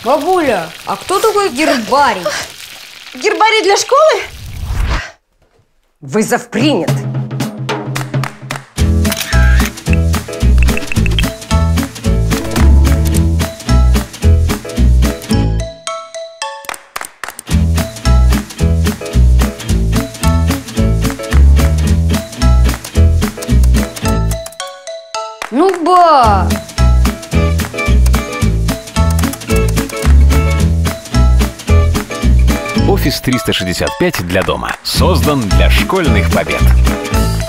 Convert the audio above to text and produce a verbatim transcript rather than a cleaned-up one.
Бабуля, а кто такой гербарий? Гербарий для школы? Вызов принят. Ну, ба! Офис триста шестьдесят пять для дома. Создан для школьных побед.